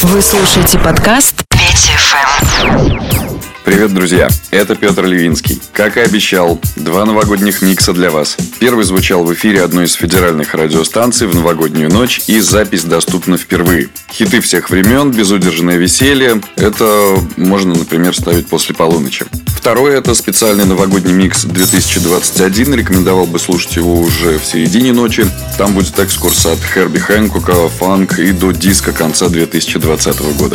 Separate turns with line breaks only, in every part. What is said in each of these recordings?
Вы слушаете подкаст Петя ФМ.
Привет, друзья! Это Петр Левинский. Как и обещал, 2 новогодних микса для вас. Первый звучал в эфире одной из федеральных радиостанций в новогоднюю ночь, и запись доступна впервые. Хиты всех времен, безудержное веселье. Это можно, например, ставить после полуночи. Второй — это специальный новогодний микс 2021. Рекомендовал бы слушать его уже в середине ночи. Там будет экскурс от Херби Хэнкока, фанк и до диска конца 2020 года.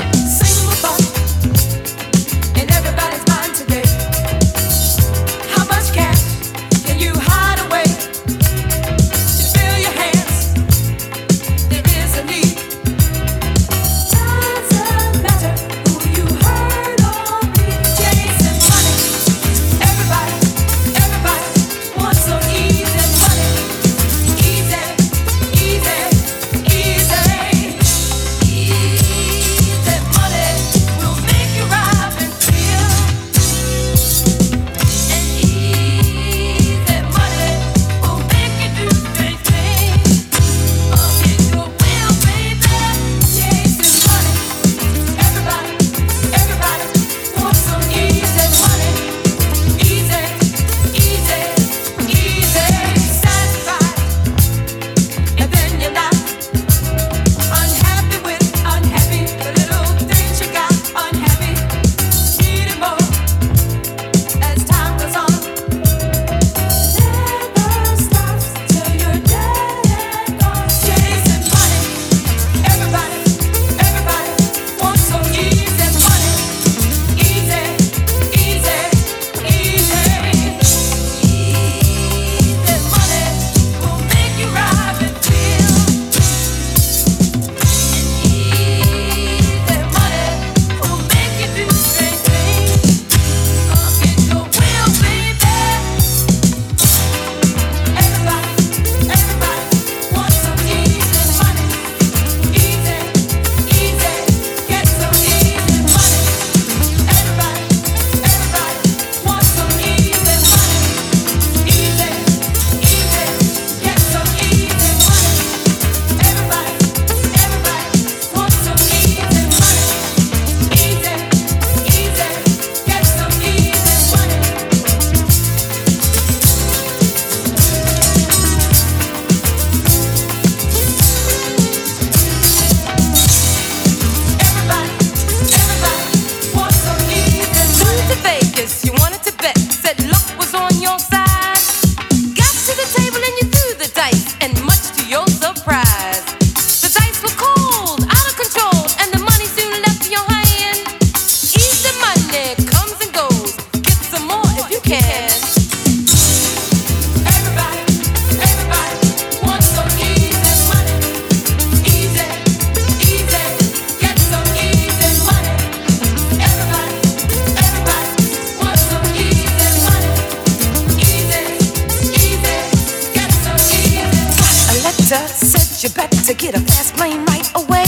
You better get a fast plane right away.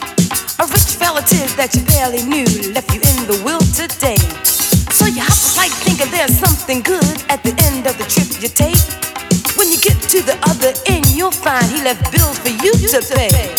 A rich relative that you barely knew left you in the will today. So you hop a flight thinking there's something good at the end of the trip you take. When you get to the other end, you'll find he left bills for you to pay.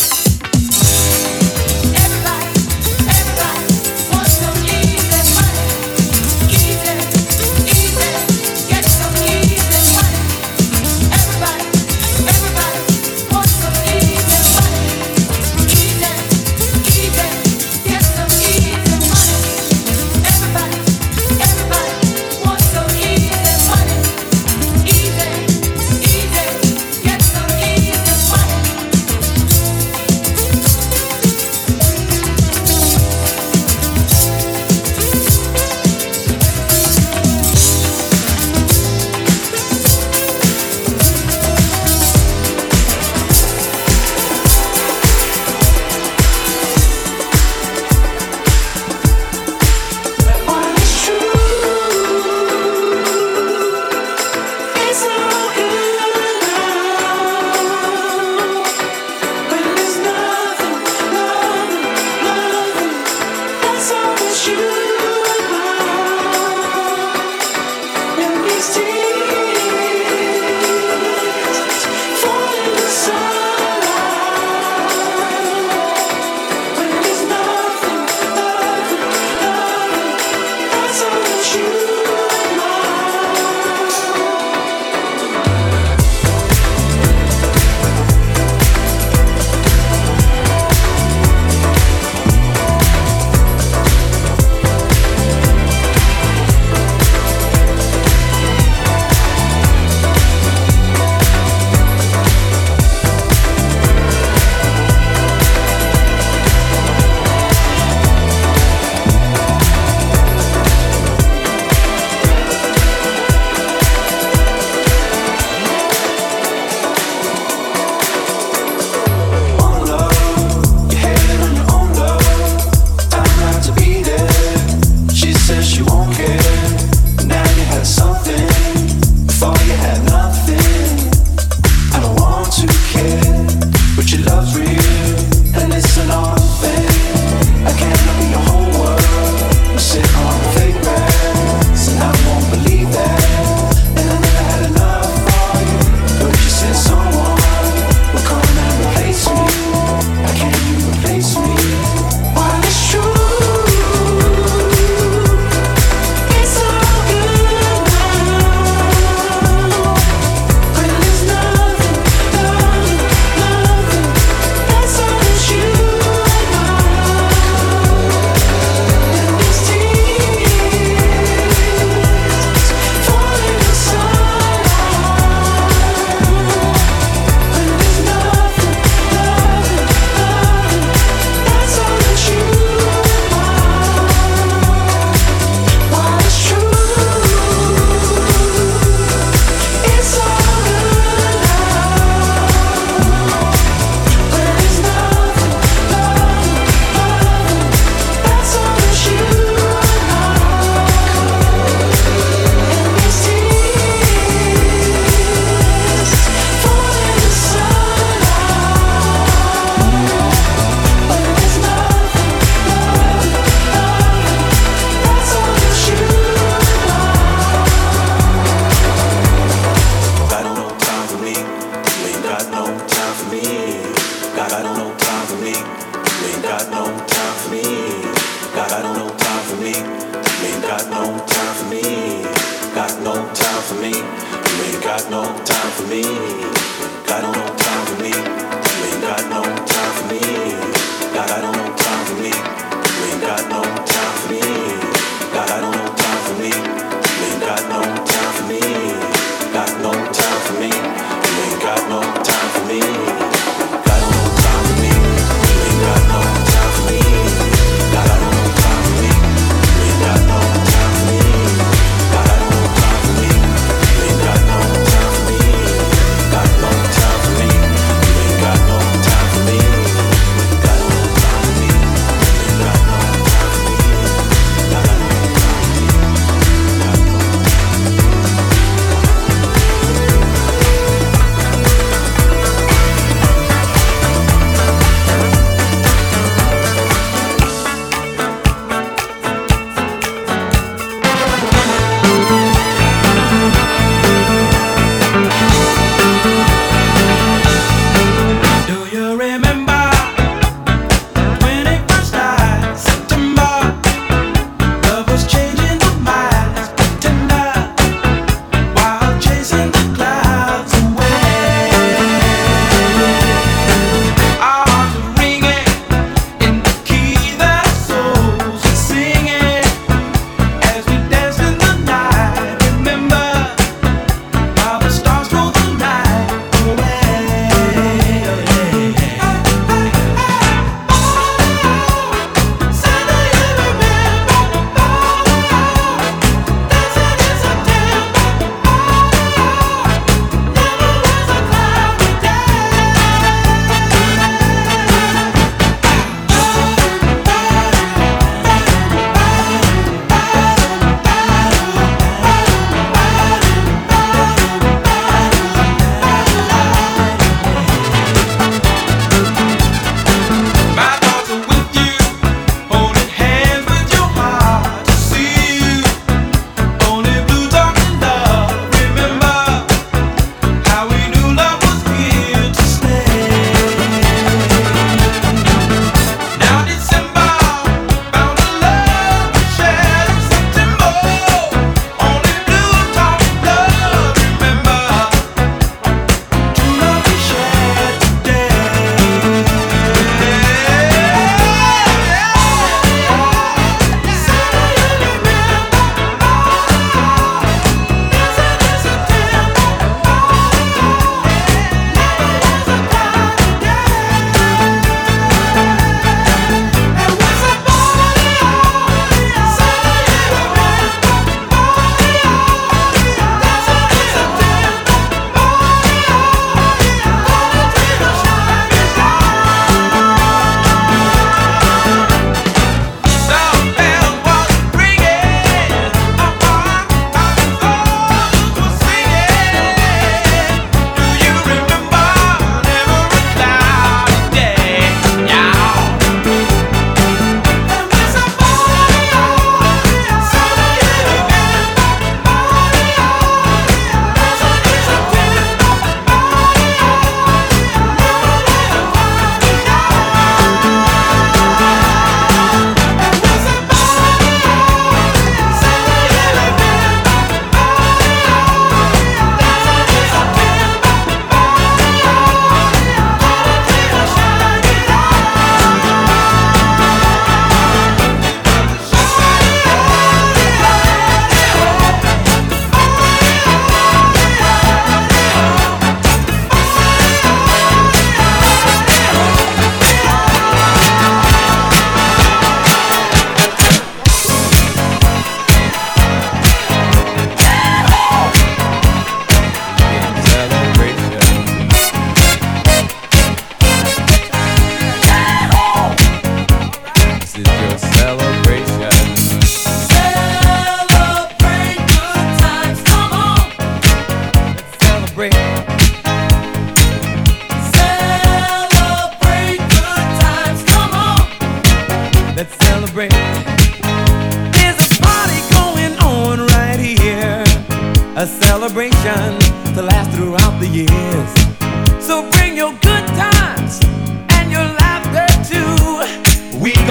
a celebration to last throughout the years. So bring your good times and your laughter too.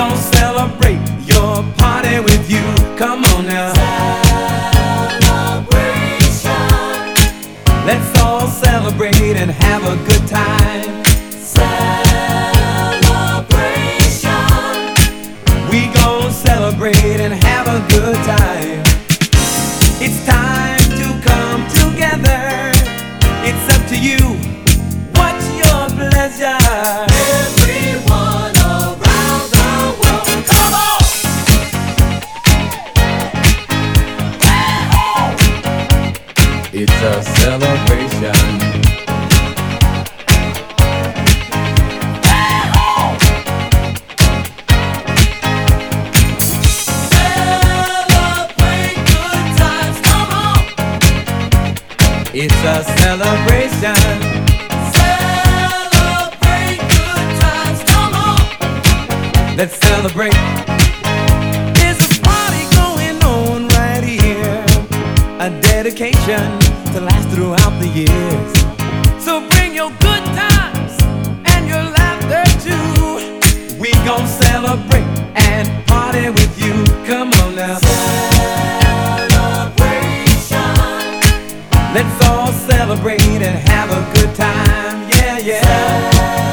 gon' celebrate your party with you. Come on now. Celebration. Let's all celebrate and have a good time. Celebration. We gon' celebrate and have a good time. It's time to come together. It's up to you. What's your pleasure? Everyone around the world, come on! It's a celebration. Celebrate good times, come on! It's a celebration. Celebrate good times, come on! Let's celebrate. There's a party going on right here, a dedication to last throughout the years. So bring your good times and your laughter too. We gon' celebrate and party with you. Come on now. Celebration. Let's all celebrate and have a good time. Yeah, yeah.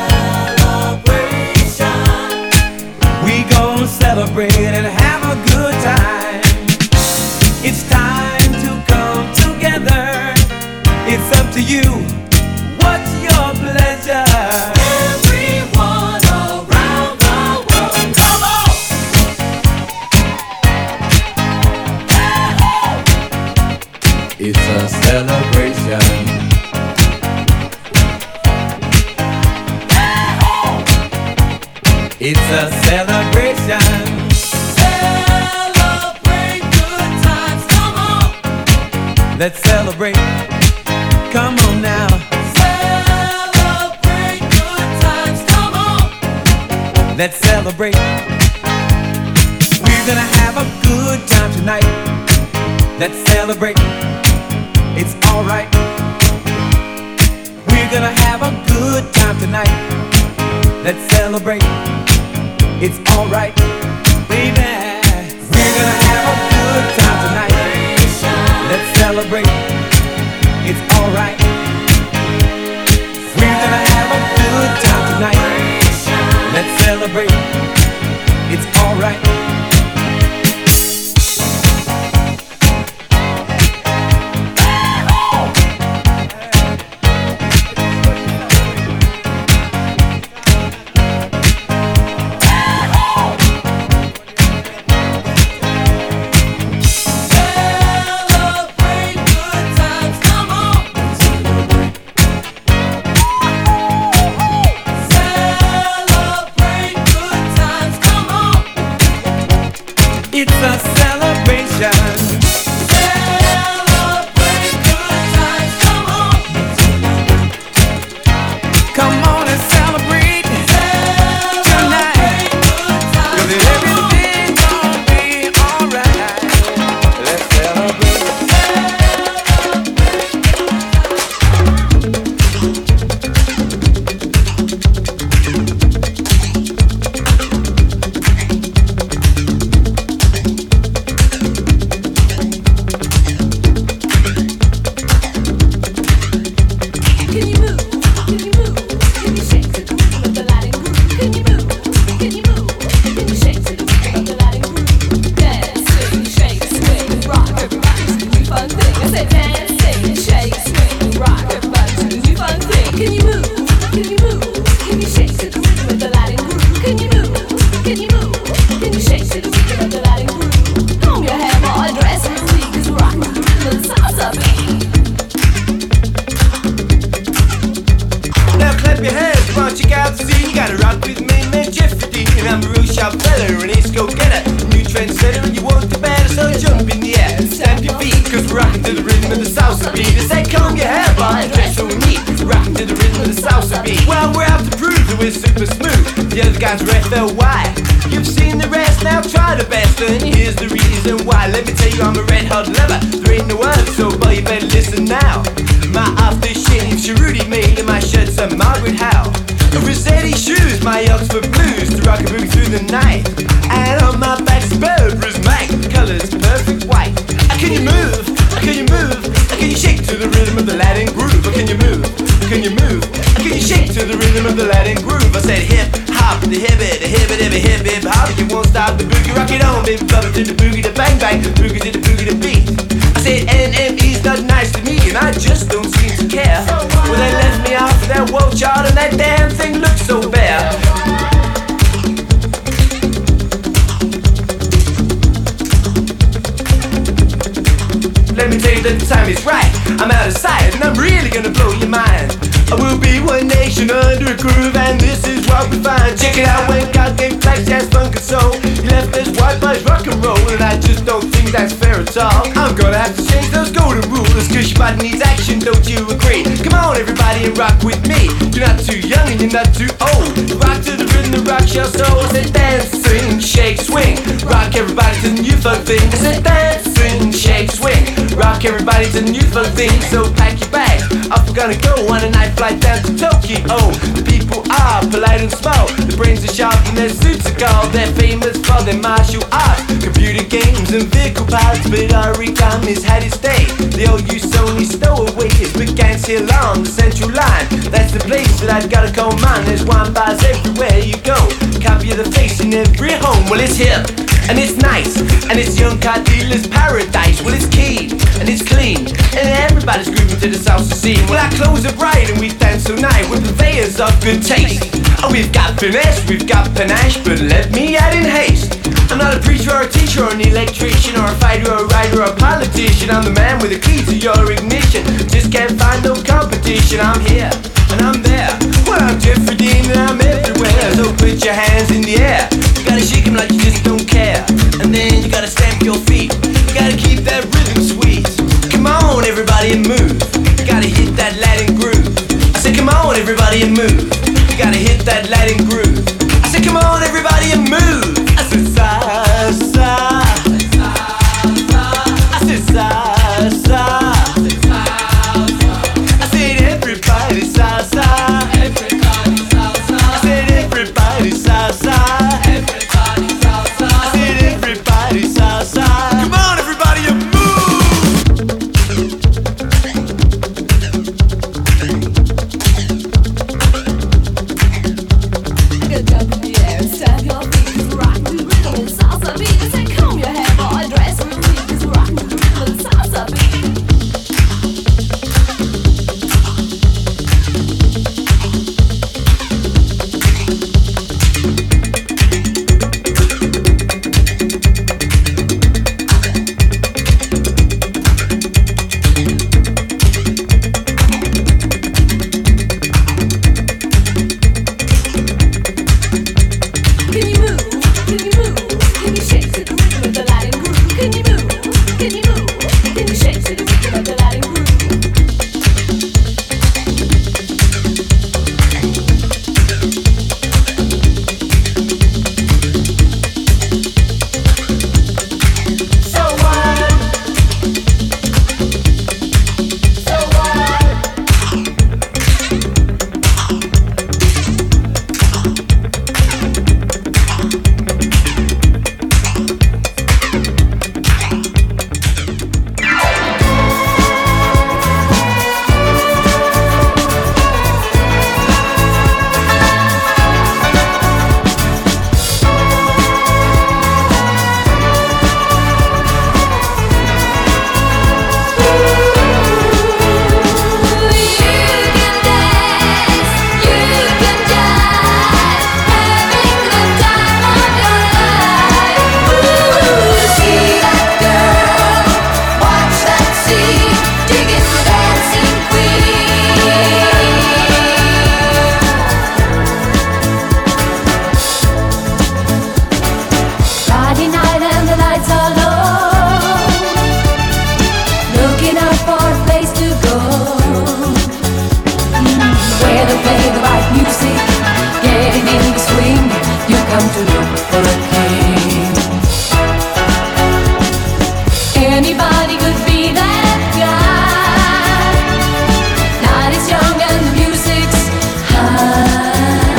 Celebration. We gon' celebrate and have a good time. It's time to come together. It's up to you. What's your pleasure? Everyone around the world, come on! It's a celebration. It's a celebration. Celebrate good times, come on! Let's celebrate. Come on now. Celebrate good times, come on! Let's celebrate. We're gonna have a good time tonight. Let's celebrate. It's alright. We're gonna have a good time tonight. Let's celebrate. It's alright, baby. We're gonna have a good time tonight. Let's celebrate. It's alright. We're gonna have a good time tonight. Let's celebrate. It's alright. It's a celebration. Celebrate good times, come on. Come on and celebrate tonight. 'Cause everything's gonna be alright. Let's celebrate.
Now clap your hands, come on, check out the scene. You gotta rock with me, man, Jeffrey D. And I'm a real sharp fella, and it's go-getter. New trendsetter, and you want the better, so jump in the air and stamp your feet. 'Cause we're rocking to the rhythm of the salsa beat. I say, comb your hair, Bob, and dress so neat. Rocking to the rhythm of the salsa beat. Well, we're out to prove that we're super smooth. The other guys are FLY. You've seen the rest, now try the best. And here's the reason why. Let me tell you, I'm a red hot lover. There ain't no other, so boy, you better listen now. My aftershave, Cherudy made, and my shirt's a Margaret Howe. Rossetti shoes, my Oxford blues, to rock a boogie through the night. And on my back's Burberry's Mike, colors perfect white. Can you move? Can you move? Can you shake to the rhythm of the Latin groove? Can you move? Can you move? Can you shake to the rhythm of the Latin groove? I said hip hop, the hip it, hip hip hop. You won't stop the boogie, rock it on, baby, bubble to the boogie, the bang bang, boogie to the boogie, the beat. I said NME's not nice to me, and I just don't seem to care. Well, they left me off of that world chart, and that damn thing looks so bare. Let me tell you that the time is right. I'm out of sight and I'm really gonna blow your mind. I will be one nation under a groove, and this is what we find. Check it out when God gave flash, jazz, funk and soul. He left us white boys rock and roll, and I just don't think that's fair at all. I'm gonna have to change those golden rules, cause your body needs action, don't you agree? Come on everybody and rock with me. You're not too young and you're not too old. Rock to the rhythm, the rock your soul. I said dance, sing, shake, swing. Rock everybody to the new funk thing. I said dance, sing, shake, swing. Rock everybody to the new funk thing. So pack your bags, off we're gonna go on a night flight down to Tokyo. The people are polite and small, their brains are sharp and their suits are gold. They're famous for their martial arts, computer games and vehicle parts. But origami's had its day. The old Usoni stowaways began here along the central line. That's the place that I've gotta call mine. There's wine bars everywhere you go, copy of the face in every home. Well, it's hip and it's nice, and it's young car dealer's paradise. Well, it's keen and it's clean, and everybody's grooving to the salsa scene. Well, our clothes are bright and we dance so nice, we're purveyors of good taste. Oh, we've got finesse, we've got panache, but let me add in haste. I'm not a preacher or a teacher or an electrician or a fighter or a writer or a politician. I'm the man with the key to your ignition. Just can't find no competition. I'm here and I'm there. Well, I'm Jeffrey Dean and I'm everywhere. So put your hands in the air. You gotta shake them like you just don't care. And then you gotta stamp your feet. You gotta keep that rhythm sweet. Come on, everybody, and move. You gotta hit that Latin groove. I said, come on, everybody, and move. You gotta hit that Latin groove. I said, come on, everybody, and move. I said, salsa. I said, salsa. I said, everybody, salsa. I said, everybody, salsa. I said, everybody, salsa. Come on, everybody, and move.
Get up in the air, stamp your feet, rock the rhythm and salsa beat. Say, comb your hair, boy, dress for me, 'cause rock the rhythm and salsa beat. Can you move? Can you move? Can you shake to the rhythm of the Latin groove? Can you move? Can you move? Can you shake to the rhythm of the Latin groove? So what? So what? Friday night and the lights are low, looking out for a place to go, where they play the right music, getting in the swing. You come to look for a king. Anybody could be that guy. Night is young and the music's high.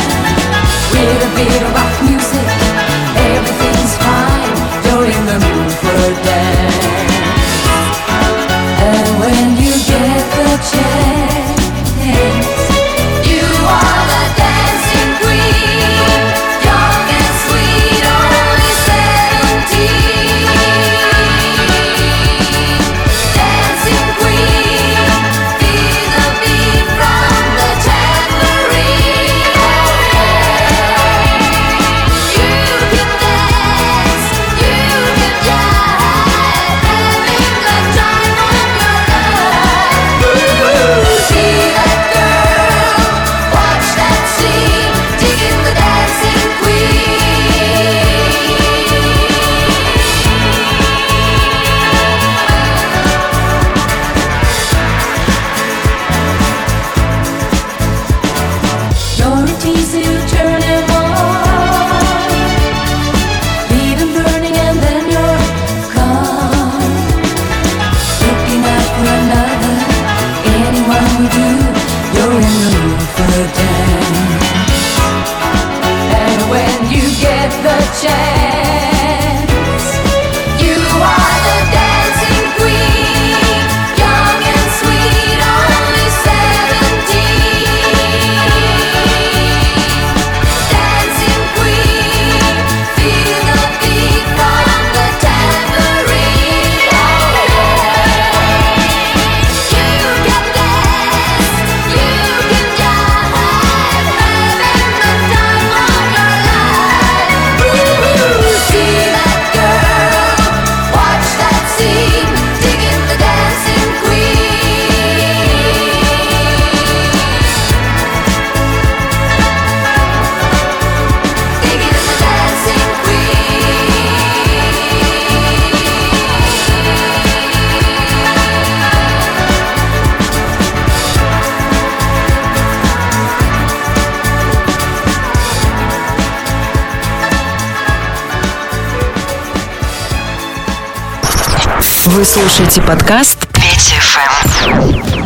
Вы слушаете подкаст Петя FM.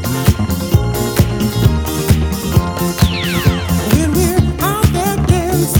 When we're out there dancing.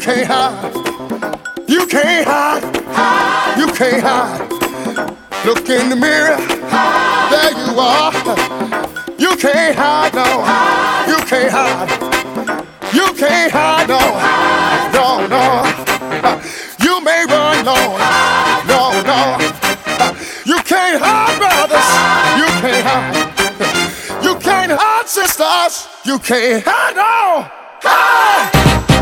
can't hide. You can't hide. You can't hide. Look in the mirror. There you are. You can't hide, no. You can't hide. You can't hide, no. No, no. You may run, no. No, no. You can't hide, brothers. You can't hide. You can't hide, sisters. You can't hide, no. Hide.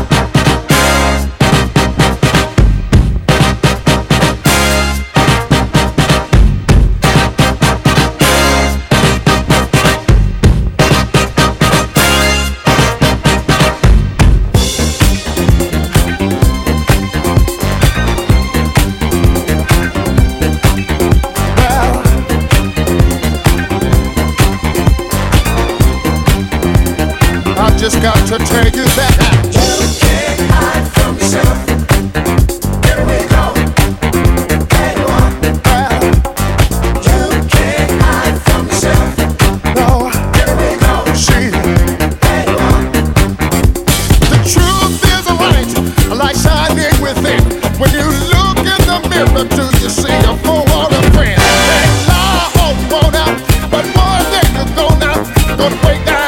Just got to tell you that you can't hide from yourself. Here we go. There you are. Well, you can't hide from yourself. No. Here we go. See. There you are. The truth is a light shining within. When you look in the mirror, do you see a fool or a friend? They lie, hold you on out, but one day you're gonna break down.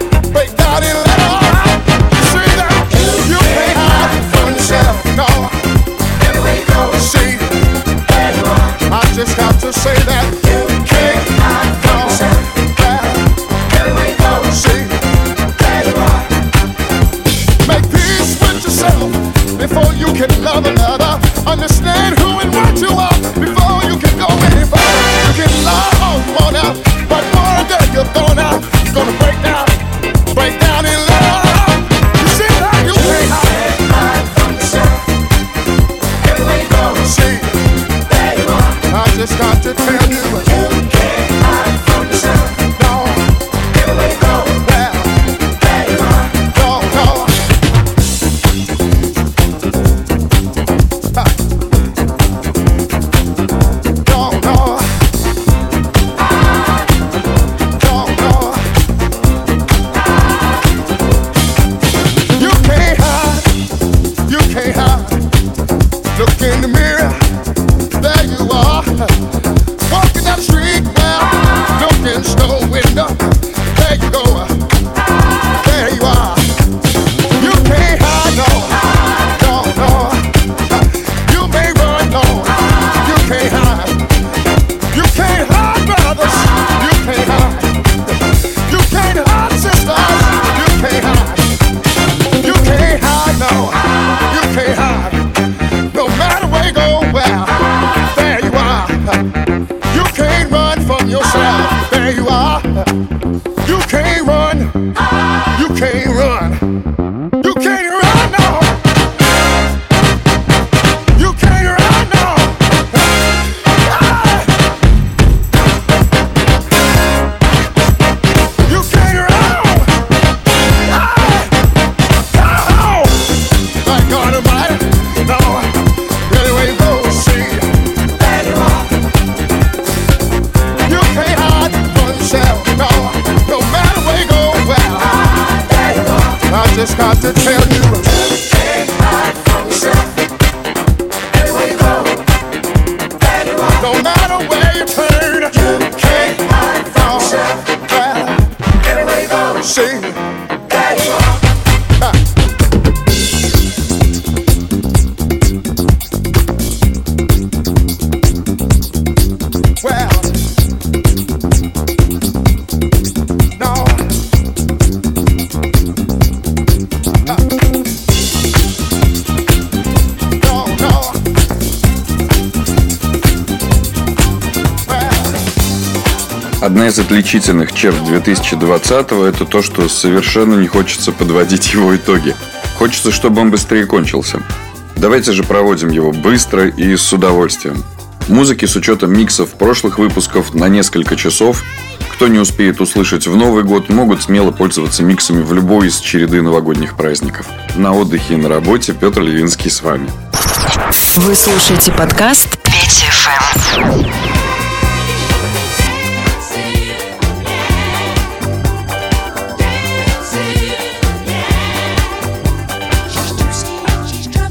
Just got to say that you can't hide from yourself. Here we go. See, there you are. Make peace with yourself before you can love another. Understand who and what you are before you can go any further. You can lie all you want out, but one day you're gonna break down in love. You see that you can't hide from yourself. Here we go. See. I just got to tell you, you can't hide from yourself. No, here we go. Well, there you are. No, no. No, no. No, no. You can't hide. You can't hide. Look in the mirror. There you are, walking down the street now, looking in the window. There you go, there you are. You can't hide, no, no, no. You may run, no, you can't hide. You can't hide, brothers. You can't hide. You can't hide, sisters. You can't hide. You can't hide, no, you can't hide. No matter where you go, well. You can't run from yourself. There you are. You can't run. You can't run. You can't run, no. You can't run, no. You can't run. My God Almighty, no. Anyway, you go see. I just got to tell you, you can't hide from yourself. Anywhere you go, there you are. No matter where you turn, you can't hide from yourself. Anywhere you go, see, there you are.
Одна из отличительных черт 2020-го – это то, что совершенно не хочется подводить его итоги. Хочется, чтобы он быстрее кончился. Давайте же проводим его быстро и с удовольствием. Музыки с учетом миксов прошлых выпусков на несколько часов. Кто не успеет услышать в Новый год, могут смело пользоваться миксами в любой из череды новогодних праздников. На отдыхе и на работе Петр Левинский с вами.
Вы слушаете подкаст Петя ФМ.
She's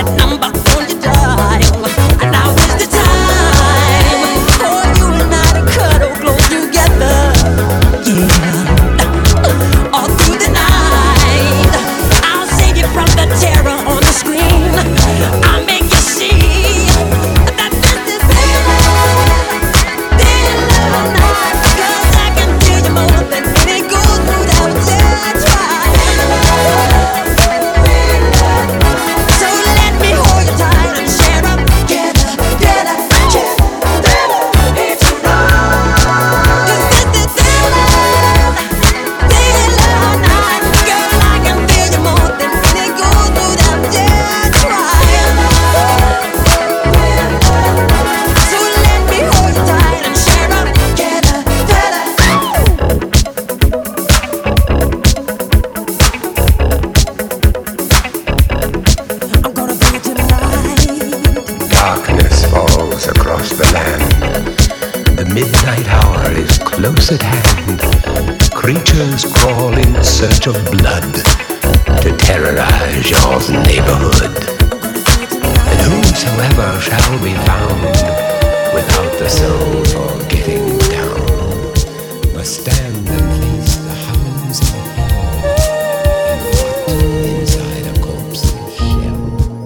close at hand. Creatures crawl in search of blood to terrorize your neighborhood. And whosoever shall be found without the soul for getting down must stand and face the hounds of hell and rot inside a corpse's shell.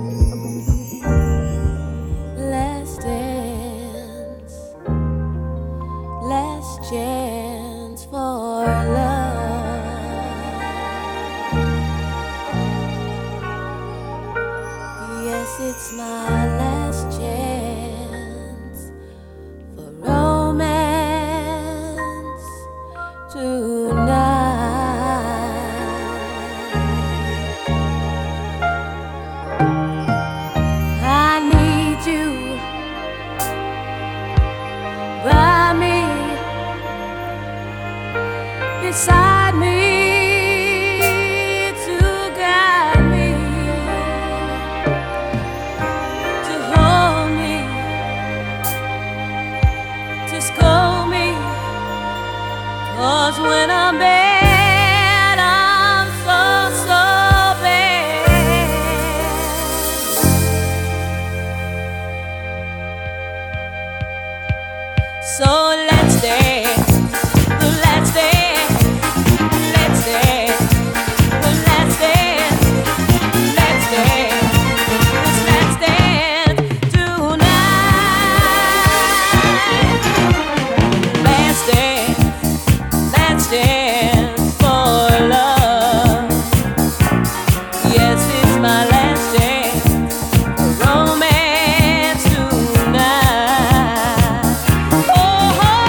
Last dance, last chance for love. Yes, it's my last chance for romance tonight. I need you by me, beside me, to guide me, to hold me, to scold me. 'Cause when I'm bad, I'm so bad. So let's dance, let's dance, let's dance, let's dance, let's dance, let's dance tonight. Let's dance for love. Yes, it's my last dance for romance tonight. Oh,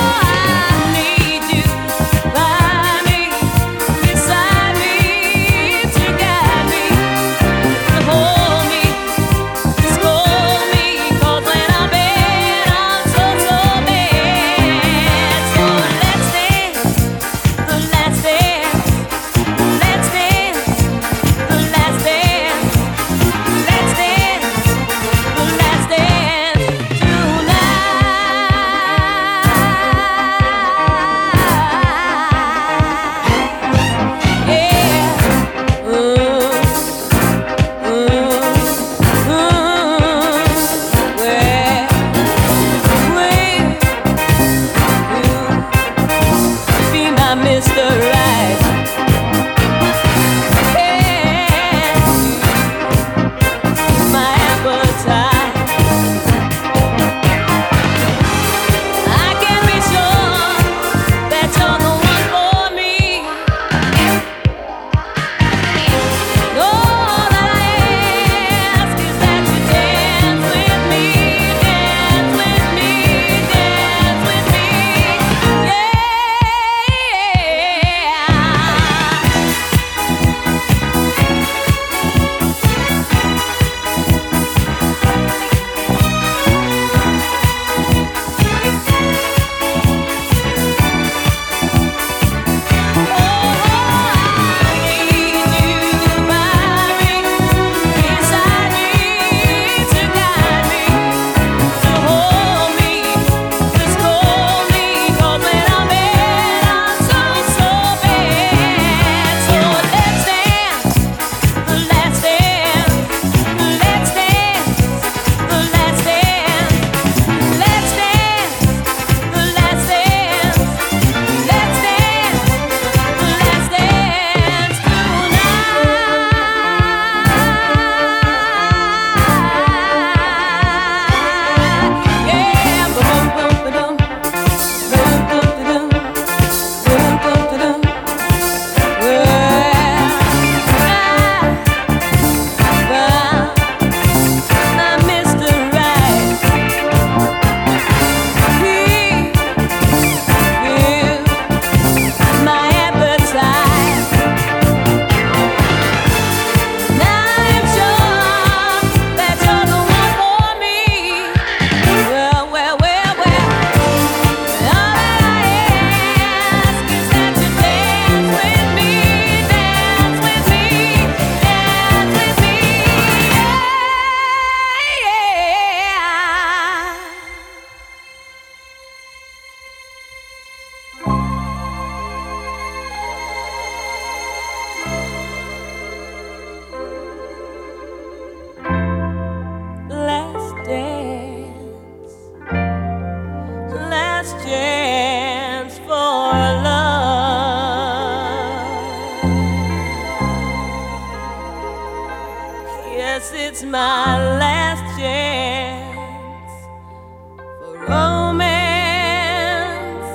it's my last chance for romance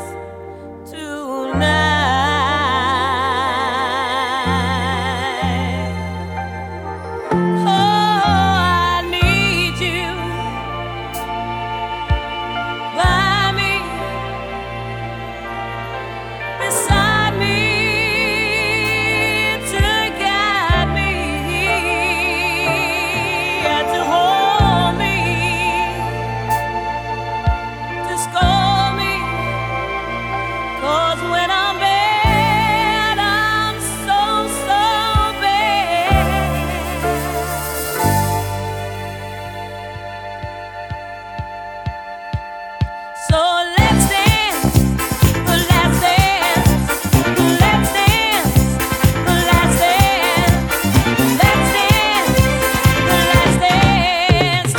tonight. Oh, I need you by me, beside me, to guide me and to hold me, to scold me. 'Cause when I'm bad, I'm so, so bad. So let's dance, let's dance, let's dance, let's dance, let's dance, let's dance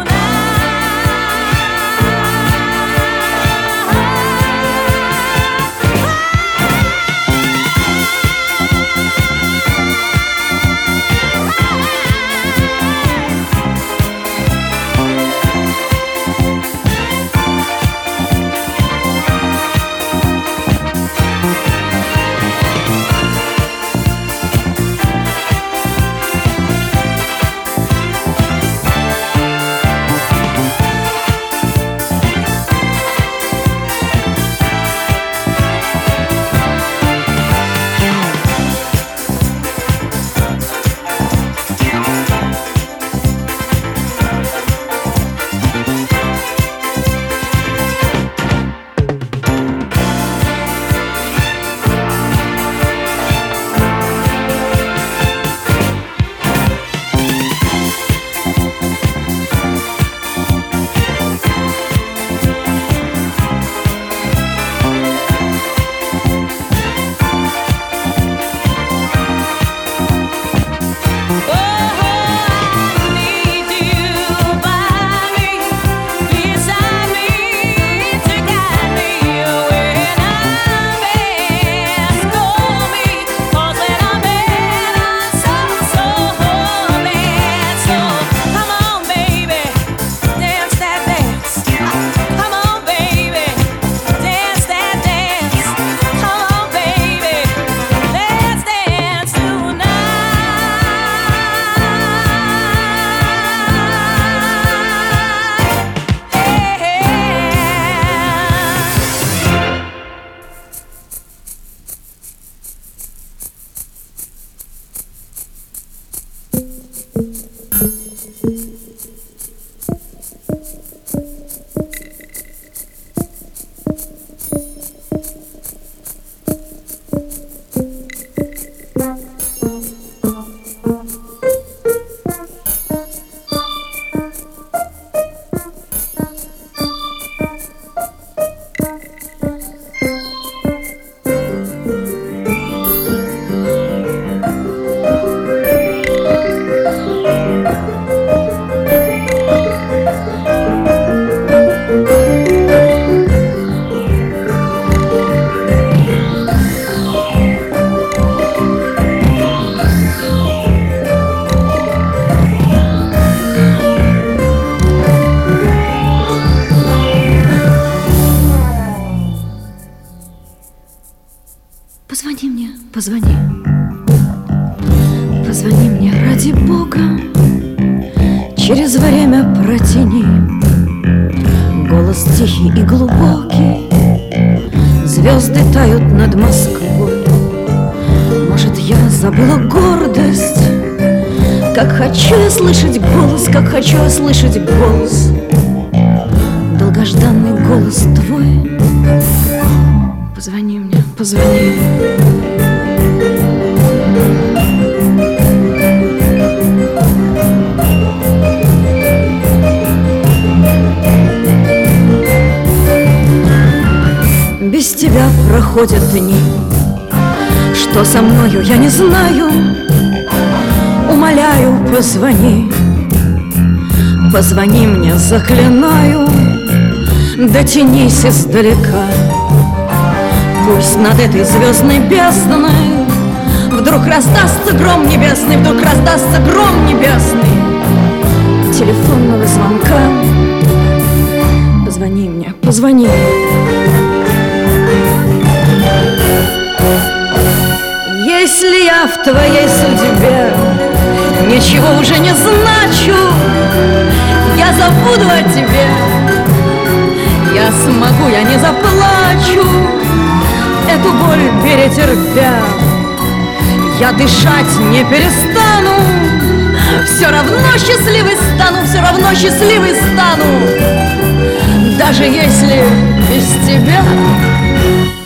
Позвони, позвони мне ради Бога, через время протяни. Голос тихий и глубокий, звезды тают над Москвой. Может, я забыла гордость, как хочу я слышать голос, как хочу я слышать голос, долгожданный голос твой. Позвони мне, позвони. Без тебя проходят дни, что со мною я не знаю. Умоляю, позвони, позвони мне, заклинаю. Дотянись издалека, пусть над этой звездной бездной вдруг раздастся гром небесный, вдруг раздастся гром небесный. телефонного звонка. Позвони мне, позвони. Если я в твоей судьбе ничего уже не значу, я забуду о тебе. Я смогу, я не заплачу, эту боль перетерпя. Я дышать не перестану, все равно счастливой стану, все равно счастливой стану, даже если без тебя.